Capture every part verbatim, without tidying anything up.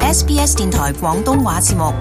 S B S 電台廣東話節目。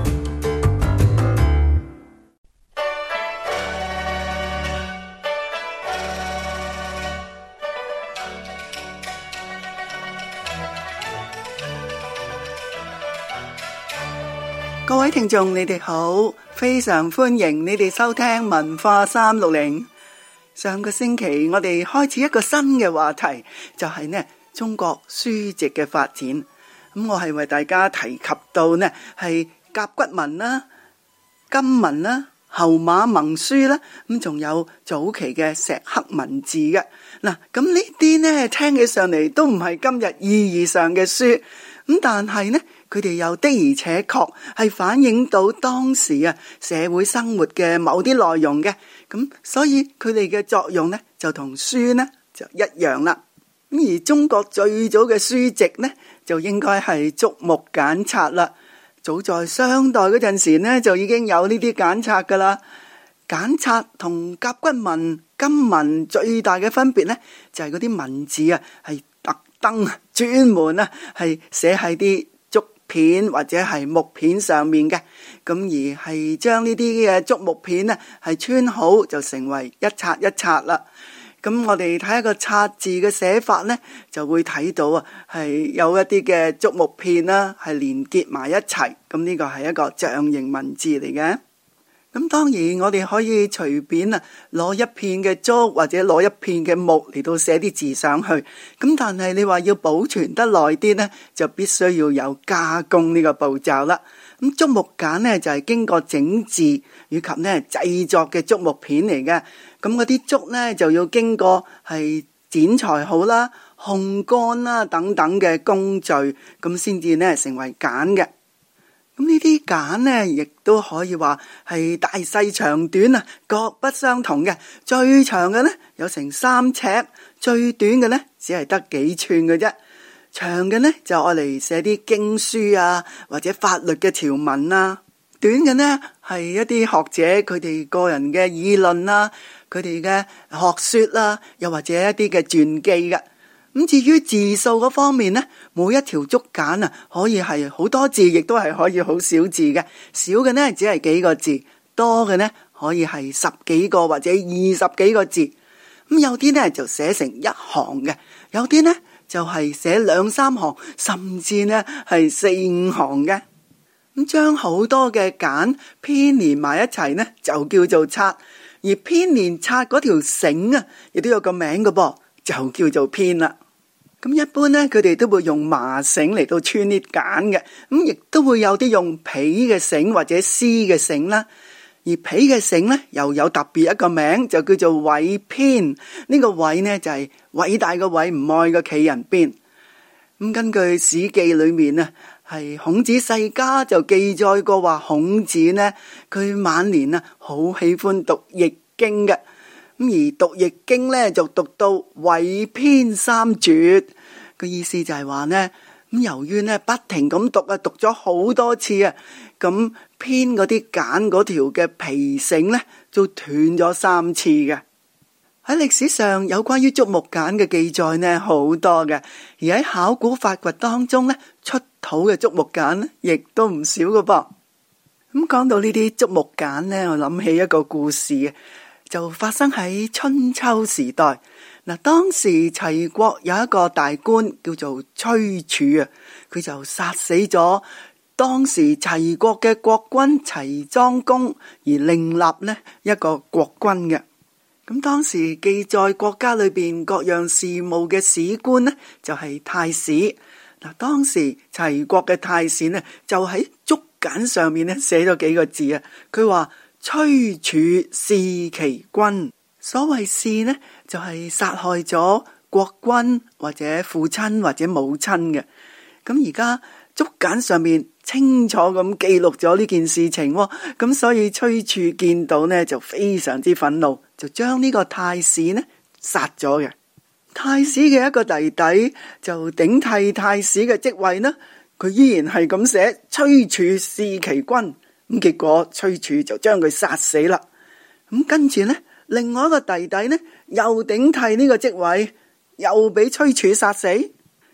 各位聽眾，你哋好，非常歡迎你哋收聽文化三六零。上個星期我哋開始一個新嘅話題，就係呢中國書籍嘅發展。咁我係為大家提及到呢係甲骨文啦、金文啦、後馬盟書啦，咁仲有早期嘅石刻文字嘅。嗱，咁呢啲呢聽起上嚟都唔係今日意義上嘅書，咁但係呢佢哋又的而且確係反映到當時啊社會生活嘅某啲內容嘅，咁所以佢哋嘅作用呢就同書呢就一樣啦。咁而中國最早嘅書籍呢就應該係竹木簡冊啦。早在商代嗰陣時呢就已經有呢啲簡冊噶啦。簡冊同甲骨文、金文最大嘅分別呢就係嗰啲文字啊係特登專門啊係寫喺啲片或者係木片上面嘅，咁而係將呢啲嘅竹木片呢係穿好就成為一冊一冊啦。咁我哋睇一個冊字嘅寫法呢，就會睇到啊係有一啲嘅竹木片啦係連結埋一齊，咁呢個係一個象形文字嚟嘅。咁當然我哋可以隨便啊攞一片嘅竹或者攞一片嘅木嚟到寫啲字上去，咁但係你話要保存得耐啲呢，就必須要有加工呢個步驟啦。咁竹木簡呢就係經過整字以及呢製作嘅竹木片嚟嘅，咁嗰啲竹呢就要經過係剪裁好啦、烘乾啦等等嘅工序，咁先至呢成為簡嘅。咁呢啲簡呢，亦都可以話係大細長短啊，各不相同嘅。最長嘅呢，有成三尺，最短嘅呢，只係得幾寸嘅啫。長嘅呢，就愛嚟寫啲經書啊，或者法律嘅條文啊。短嘅呢，係一啲學者佢哋個人嘅議論啦，佢哋嘅學說啦，又或者一啲嘅傳記嘅。咁至於字數嗰方面呢，每一條竹簡啊，可以係好多字，亦都係可以好少字嘅。少嘅呢，只係幾個字，多嘅呢，可以係十幾個或者二十幾個字。咁有啲呢，就寫成一行嘅，有啲呢，就係寫兩三行，甚至呢，係四五行嘅。咁將好多嘅簡編連埋一齊呢，就叫做冊。而編連冊嗰條繩啊，亦都有個名嘅噃，就叫做編啦。咁一般呢，佢哋都會用麻繩嚟到穿啲簡嘅，咁亦都會有啲用皮嘅繩或者絲嘅繩啦。而皮嘅繩呢，又有特別一個名，就叫做緯編。呢個緯呢，就係偉大嘅偉，唔愛嘅企人邊。咁根據《史記》裏面呢，係孔子世家就記載過話，孔子呢，佢晚年啊好喜歡讀易經嘅。咁而讀易經咧，就讀到緯編三絕，個意思就係話呢，咁由於呢不停咁讀啊，讀咗好多次啊，咁編嗰啲簡嗰條嘅皮繩呢，就斷咗三次嘅。喺歷史上有關於竹木簡嘅記載呢，好多嘅，而喺考古發掘當中呢，出土嘅竹木簡呢，亦都唔少嘅噃。咁講到呢啲竹木簡呢，我諗起一個故事啊。就發生喺春秋時代。嗱，當時齊國有一個大官叫做崔杼啊，佢就殺死咗當時齊國嘅國君齊莊公，而另立呢一個國君嘅。咁當時記載國家裏邊各樣事務嘅史官呢，就係太史。嗱，當時齊國嘅太史呢，就喺竹簡上面呢寫咗幾個字啊，佢話崔杼弒其君。所謂弒呢，就係、是、殺害咗國君或者父親或者母親嘅。咁而家竹簡上面清楚咁記錄咗呢件事情，咁所以崔杼見到呢就非常之憤怒，就將呢個太史呢殺咗嘅。太史嘅一個弟弟就頂替太史嘅職位呢，佢依然係咁寫崔杼弒其君。咁結果崔杼就將佢殺死啦。咁跟住呢，另外一個弟弟呢又頂替呢個職位，又俾崔杼殺死。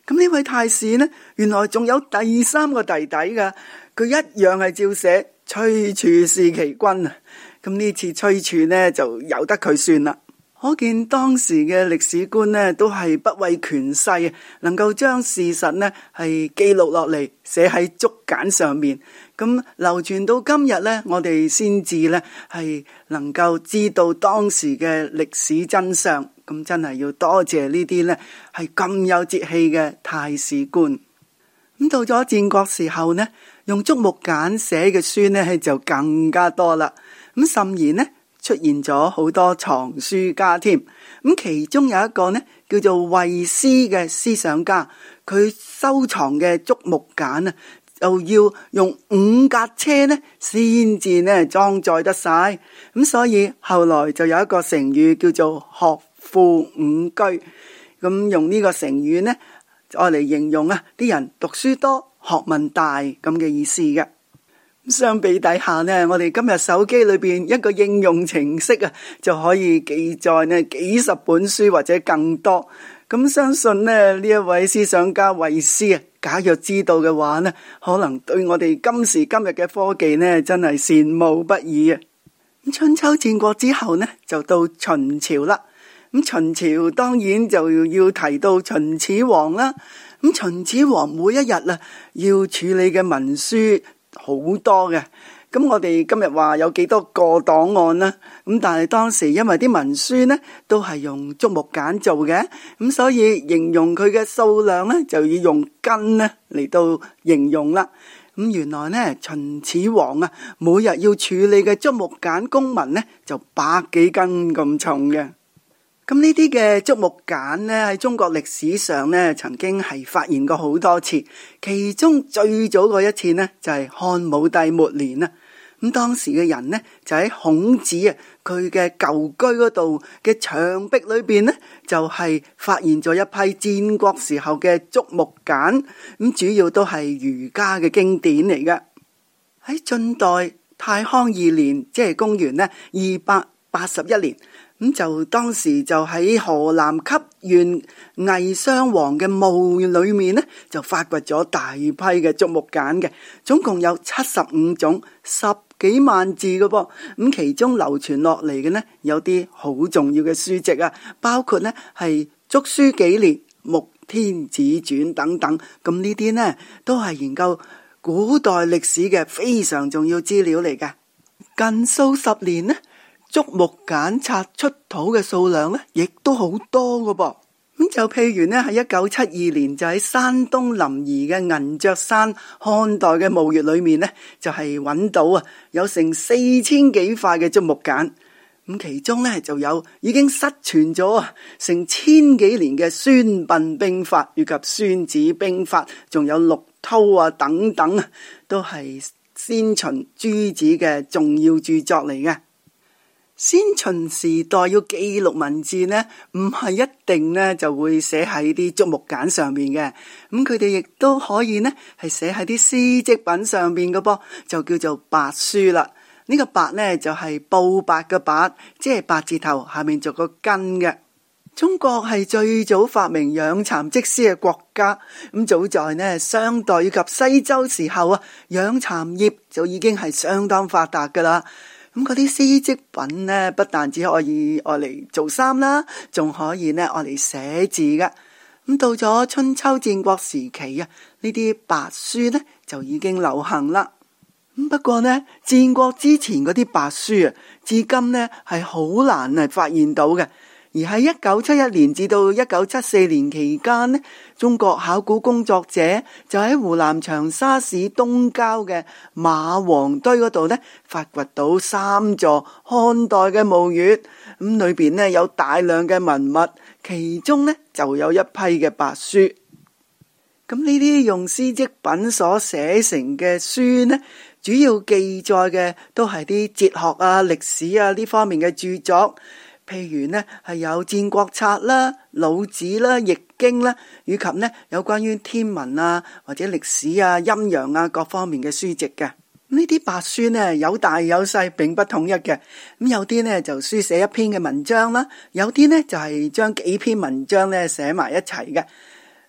咁呢位太史呢，原來仲有第三個弟弟噶，佢一樣係照寫崔處弒其君啊。咁呢次崔處呢就由得佢算啦。可見當時嘅歷史官呢都係不畏權勢，能夠將事實呢係記錄落嚟，寫喺竹簡上面。咁流傳到今日呢，我哋先至呢係能夠知道當時嘅歷史真相。咁真係要多謝呢啲呢係咁有節氣嘅太史官。咁到咗戰國時候呢，用竹木簡寫嘅書呢就更加多啦。咁甚而呢出現咗好多藏書家添。咁其中有一個呢叫做惠施嘅思想家，佢收藏嘅竹木簡啊，就要用五架車呢先至呢裝載得晒。咁所以後來就有一個成語叫做學富五車。咁用呢個成語呢愛嚟形容啊啲人讀書多學問大咁嘅意思嘅。相比底下呢，我哋今日手機裏邊一個應用程式啊，就可以記載呢幾十本書或者更多。咁相信呢呢一位思想家惠施啊，假若知道嘅話呢，可能對我哋今時今日嘅科技呢，真係羨慕不已啊！咁春秋戰國之後呢，就到秦朝啦。咁秦朝當然就要提到秦始皇啦。咁秦始皇每一日啊，要處理嘅文書好多嘅。咁我哋今日話有幾多個檔案啦？咁但係當時因為啲文書呢都係用竹木簡做嘅，咁所以形容佢嘅數量呢就要用斤呢嚟到形容啦。咁原來呢秦始皇啊，每日要處理嘅竹木簡公文呢就百幾斤咁重嘅。咁呢啲嘅竹木簡呢喺中國歷史上呢曾經係發現過好多次，其中最早嗰一次呢就係漢武帝末年啦。咁當時嘅人呢就喺孔子啊佢嘅舊居嗰度嘅牆壁裏邊呢就係發現咗一批戰國時候嘅竹木簡，咁主要都係儒家嘅經典嚟嘅。喺晉代太康二年，即係公元呢二百八十一年，咁就當時就喺河南汲縣魏襄王嘅墓裏面呢就發掘咗大批嘅竹木簡嘅，總共有七十五種，十幾萬字嘅噃。咁其中流傳落嚟嘅呢有啲好重要嘅書籍啊，包括呢係竹書紀年、穆天子傳等等。咁呢啲呢都係研究古代歷史嘅非常重要資料嚟嘅。近數十年呢，竹木簡刷出土嘅數量呢亦都好多嘅噃。咁就譬如呢，喺一九七二年就喺山東臨沂嘅銀雀山漢代嘅墓穴裏面呢，就係揾到啊有成四千幾塊嘅竹木簡。咁其中呢就有已經失傳咗啊成千幾年嘅孫臏兵法以及孫子兵法，仲有陸韜啊等等啊，都係先秦諸子嘅重要著作嚟嘅。先秦時代要記錄文字呢，唔係一定呢就會寫喺啲竹木簡上面嘅。咁佢哋亦都可以呢係寫喺啲絲織品上面嘅噃，就叫做帛書啦。呢個帛呢就係布帛嘅帛，即係八字頭下面做個根嘅。中國係最早發明養蠶織絲嘅國家。咁早在呢商代以及西周時候啊，養蠶業就已經係相當發達噶啦。咁嗰啲絲織品呢，不但只可以愛嚟做衫啦，仲可以呢愛嚟寫字嘅。咁到咗春秋戰國時期啊，呢啲帛書呢就已經流行啦。咁不過呢，戰國之前嗰啲帛書啊，至今呢係好難係發現到嘅。而喺一九七一年至到一九七四年期間呢，中國考古工作者就喺湖南長沙市東郊嘅馬王堆嗰度呢，發掘到三座漢代嘅墓穴，咁裏邊呢有大量嘅文物，其中呢就有一批嘅帛書。咁呢啲用絲織品所寫成嘅書呢，主要記載嘅都係啲哲學啊、歷史啊呢方面嘅著作。譬如呢係有戰國策啦、老子啦、易經啦，以及呢有關於天文啊或者歷史啊、陰陽啊各方面嘅書籍嘅。呢啲帛書呢有大有細，並不統一嘅。咁有啲呢就書寫一篇嘅文章啦，有啲呢就係將幾篇文章呢寫埋一齊嘅。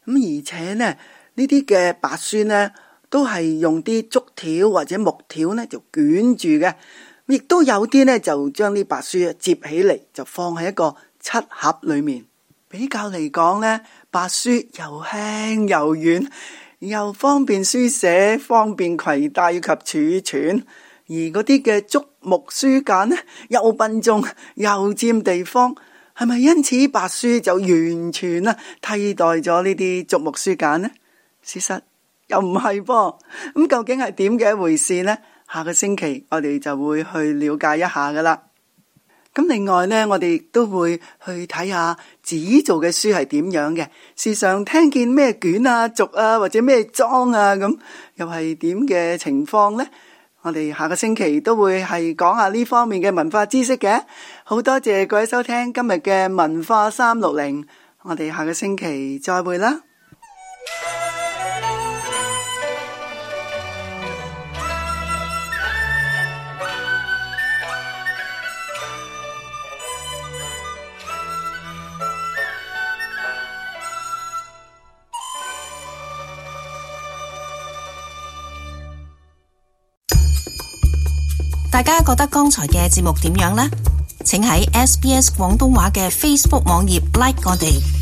咁而且呢，呢啲嘅白書呢，都係用啲竹條或者木條呢就捲住嘅，亦都有啲呢就將啲白書接起嚟，就放喺一個漆盒裏面。比較嚟講呢，白書又輕又軟，又方便書寫，方便攜帶以及儲存。而嗰啲嘅竹木書簡呢，又笨重又佔地方。係咪因此白書就完全啊替代咗呢啲竹木書簡呢？事實又唔係噃，咁究竟係點嘅一回事呢？下個星期我哋就會去了解一下噶啦。咁另外呢，我哋亦都會去睇下紙做嘅書係點樣嘅。時常聽見咩卷啊、軸啊或者咩裝啊，咁又係點嘅情況呢？我哋下個星期都會係講下呢方面嘅文化知識嘅。好多謝各位收聽今日嘅文化三六零，我哋下個星期再會啦。 大家覺得剛才嘅節目點樣呢？請喺 S B S 廣東話嘅 Facebook 網頁 like 我哋。